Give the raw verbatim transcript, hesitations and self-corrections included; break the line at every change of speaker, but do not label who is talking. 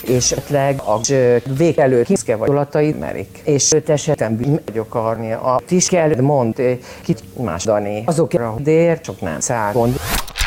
és esetleg a vég előtt kiszke vagy olatai merik. És öt esetben bűn vagyok arni. A tis kell mond, kit más dani. Azokra dér, csak nem száll.